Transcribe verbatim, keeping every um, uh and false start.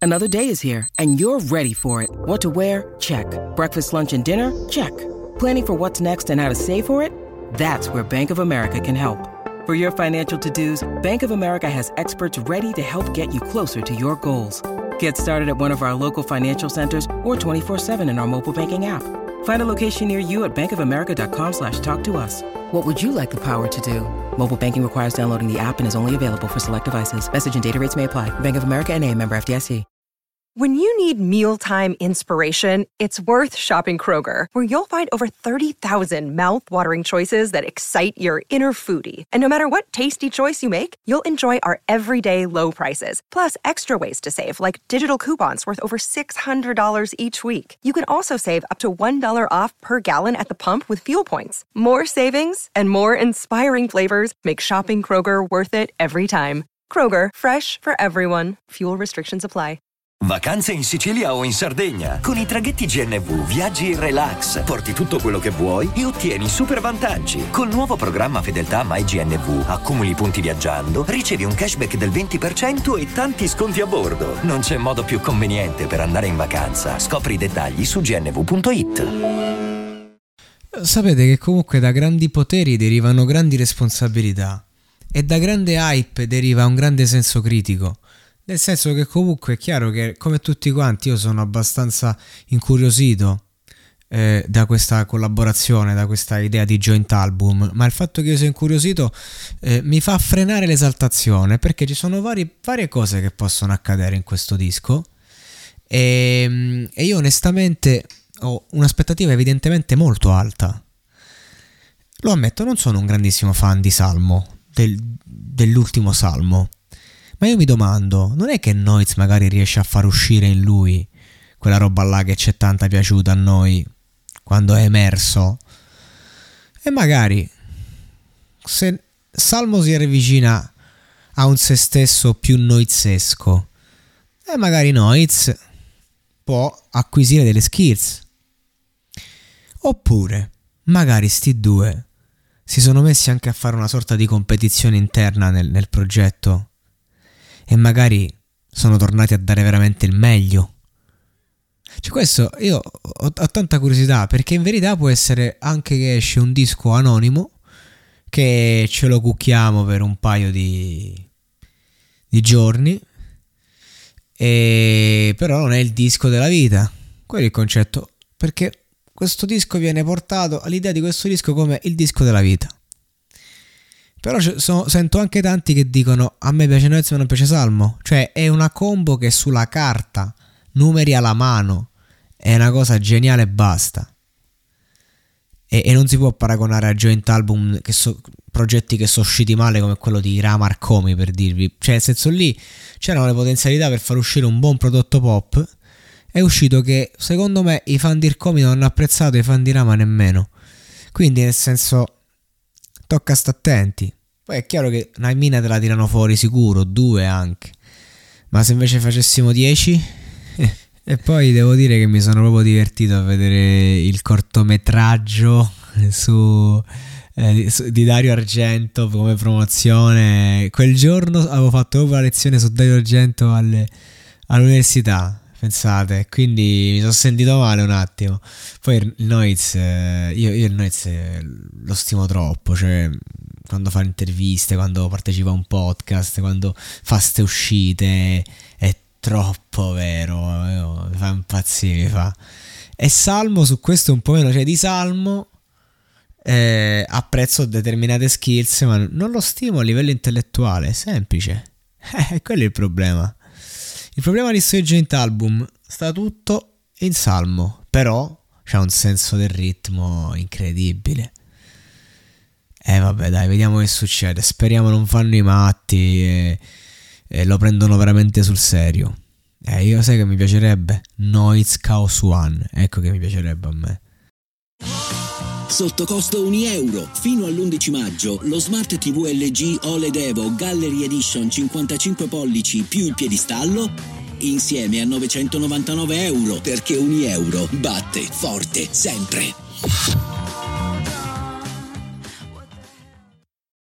Another day is here, and you're ready for it. What to wear? Check. Breakfast, lunch, and dinner? Check. Planning for what's next and how to save for it? That's where Bank of America can help. For your financial to-dos, Bank of America has experts ready to help get you closer to your goals. Get started at one of our local financial centers or twenty-four seven in our mobile banking app. Find a location near you at bankofamerica.com slash talk to us. What would you like the power to do? Mobile banking requires downloading the app and is only available for select devices. Message and data rates may apply. Bank of America N A, member F D I C. When you need mealtime inspiration, it's worth shopping Kroger, where you'll find over thirty thousand mouth-watering choices that excite your inner foodie. And no matter what tasty choice you make, you'll enjoy our everyday low prices, plus extra ways to save, like digital coupons worth over six hundred dollars each week. You can also save up to one dollar off per gallon at the pump with fuel points. More savings and more inspiring flavors make shopping Kroger worth it every time. Kroger, fresh for everyone. Fuel restrictions apply. Vacanze in Sicilia o in Sardegna. Con i traghetti G N V viaggi in relax, porti tutto quello che vuoi e ottieni super vantaggi. Col nuovo programma Fedeltà MyGNV accumuli punti viaggiando, ricevi un cashback del venti per cento e tanti sconti a bordo. Non c'è modo più conveniente per andare in vacanza. Scopri i dettagli su g n v punto i t. Sapete che comunque da grandi poteri derivano grandi responsabilità e da grande hype deriva un grande senso critico. Nel senso che comunque è chiaro che, come tutti quanti, io sono abbastanza incuriosito eh, da questa collaborazione, da questa idea di joint album, ma il fatto che io sia incuriosito eh, mi fa frenare l'esaltazione, perché ci sono vari, varie cose che possono accadere in questo disco e, e io onestamente ho un'aspettativa evidentemente molto alta. Lo ammetto, non sono un grandissimo fan di Salmo, del, dell'ultimo Salmo. Ma io mi domando, non è che Noiz magari riesce a far uscire in lui quella roba là che c'è tanta piaciuta a noi quando è emerso? E magari se Salmo si avvicina a un se stesso più noizesco, e magari Noiz può acquisire delle skills. Oppure magari sti due si sono messi anche a fare una sorta di competizione interna nel, nel progetto e magari sono tornati a dare veramente il meglio. Cioè, questo io ho, ho tanta curiosità, perché in verità può essere anche che esce un disco anonimo che ce lo cucchiamo per un paio di, di giorni, e però non è il disco della vita. Quello è il concetto, perché questo disco viene portato all'idea di questo disco come il disco della vita. Però sono, sento anche tanti che dicono a me piace Noiz ma non piace Salmo. Cioè è una combo che sulla carta, numeri alla mano, è una cosa geniale e basta. E, e non si può paragonare a joint album, che so, progetti che sono usciti male come quello di Rama Arcomi, per dirvi. Cioè nel senso, lì c'erano le potenzialità per far uscire un buon prodotto pop. È uscito che secondo me i fan di Arcomi non hanno apprezzato, i fan di Rama nemmeno. Quindi nel senso, tocca sta attenti. Poi è chiaro che una mina te la tirano fuori sicuro, due anche. Ma se invece facessimo dieci? E poi devo dire che mi sono proprio divertito a vedere il cortometraggio su, eh, su, di Dario Argento come promozione. Quel giorno avevo fatto proprio la lezione su Dario Argento alle, all'università, pensate, quindi mi sono sentito male un attimo. Poi il Noiz, eh, io, io il Noiz lo stimo troppo, cioè quando fa interviste, quando partecipa a un podcast, quando fa ste uscite, è troppo vero, mi fa impazzire, mi fa. E Salmo su questo un po' meno, cioè di Salmo eh, apprezzo determinate skills, ma non lo stimo a livello intellettuale, è semplice. Eh, quello è il problema. Il problema di questo joint album sta tutto in Salmo, però c'ha un senso del ritmo incredibile. E eh, vabbè, dai, vediamo che succede. Speriamo non fanno i matti e, e lo prendono veramente sul serio. Eh, io sai che mi piacerebbe Noiz Chaos One, ecco che mi piacerebbe a me. Sotto costo un euro. Fino all'undici maggio lo Smart ti vu L G O L E D Evo Gallery Edition cinquantacinque pollici più il piedistallo insieme a novecentonovantanove euro, perché un euro batte forte sempre.